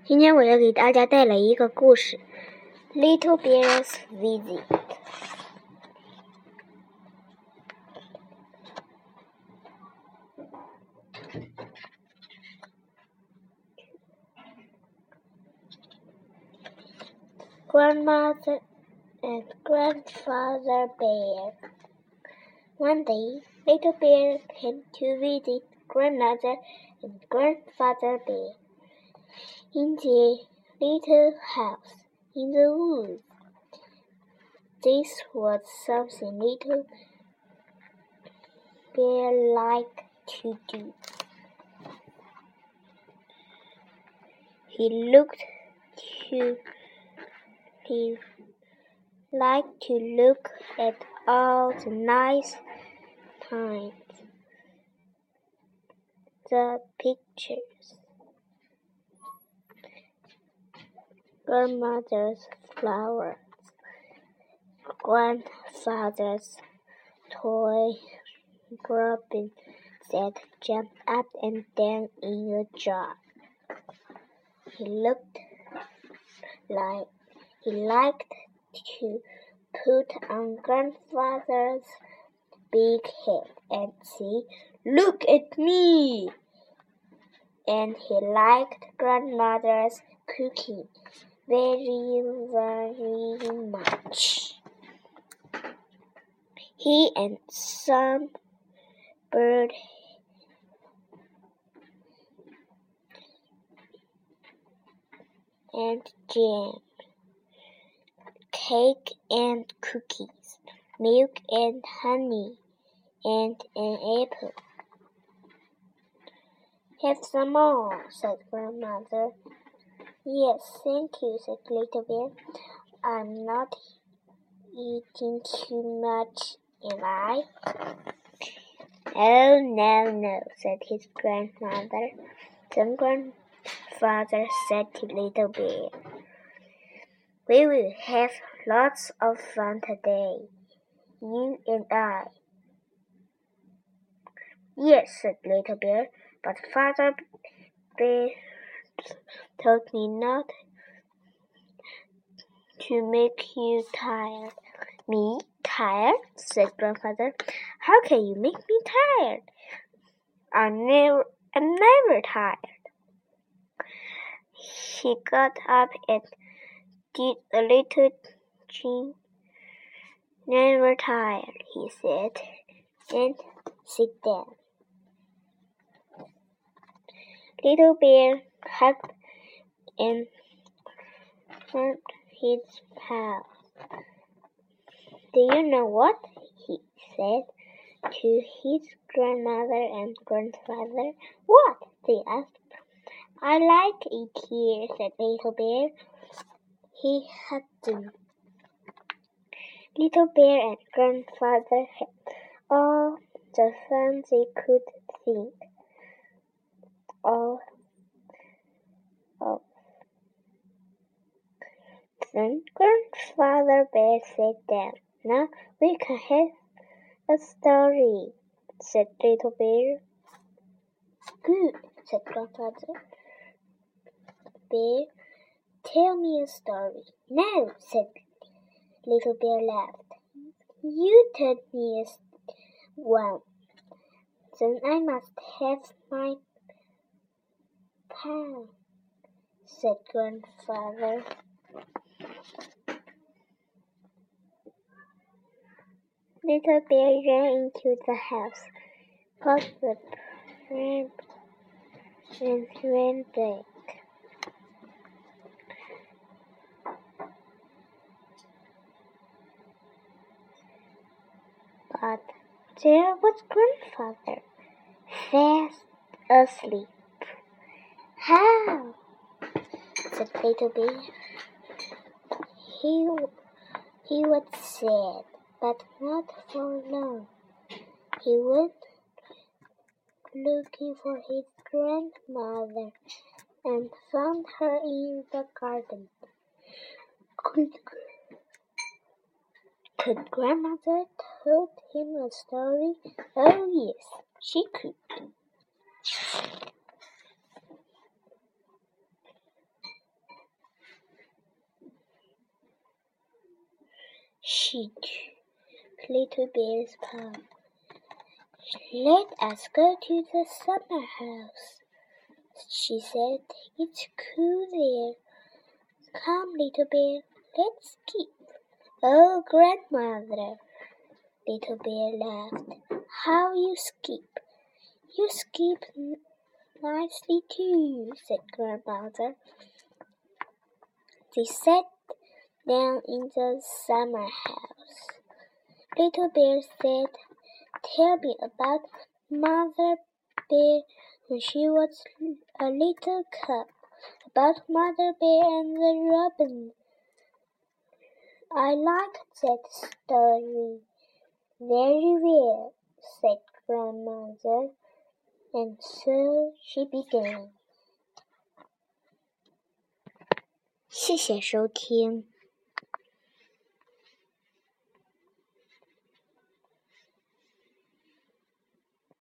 今天我要给大家带来一个故事，《Little Bear's Visit》。Grandmother and Grandfather Bear. One day, Little Bear came to visit Grandmother and Grandfather Bear in their little house in the woods. This was something Little Bear liked to do. He liked to look at all the nice things, the pictures, grandmother's flowers, grandfather's toy robin that jumped up and down in a jar. He liked to put on grandfather's big head and say, "Look at me!" And he liked grandmother's cooking very, very much. He and some bird and jam, cake and cookies, milk and honey, and an apple. "Have some more," said Grandmother. "Yes, thank you," said Little Bear. "I'm not eating too much, am I?" "Oh, no," said his grandmother. Then Grandfather said to Little Bear, "We will have lots of fun today, you and I." "Yes," said Little Bear, "but Father Bear told me not to make you tired." "Me tired?" said Grandfather. "How can you make me tired? I'm never tired." He got up and did a little chin. "Never tired," he said, "and sit down." Little Bear hugged and hugged his pal. "Do you know what?" he said to his grandmother and grandfather. "What?" they asked. "I like it here," said Little Bear. He hugged them. Little Bear and Grandfather had all the fun they could think of. Then Grandfather Bear sat down. "Now we can have a story," said Little Bear. "Good," said Grandfather Bear. "Tell me a story." "No," said Little Bear, laughed. "You tell me one. Then I must have my pal," said Grandfather. Little Bear ran into the house, caught the pram, and ran back. But there was Grandfather, fast asleep. "How?" said Little Bear. He was sad, but not for long. He went looking for his grandmother and found her in the garden. Could Grandmother tell him a story? Oh, yes, she could. she to Little Bear's paw. Let us go to the summer house, she said. It's cool there. Come, Little Bear, let's skip. Oh, Grandmother, Little Bear laughed. How you skip? You skip nicely too, said Grandmother. They sat down in the summer house. Little Bear said, Tell me about Mother Bear when she was a little cub, about Mother Bear and the robin. I like that story very well, said Grandmother, and so she began.谢谢收听。